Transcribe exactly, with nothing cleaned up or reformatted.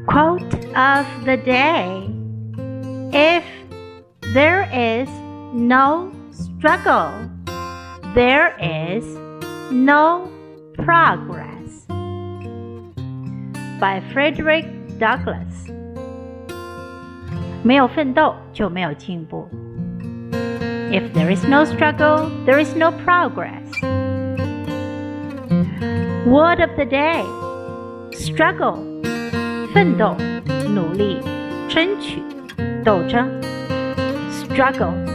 Quote of the day: If there is no struggle, there is no progress. By Frederick Douglass. 没有奋斗就没有进步。If there is no struggle, there is no progress. Word of the day: struggle. 奋斗、努力、争取、斗争。Struggle.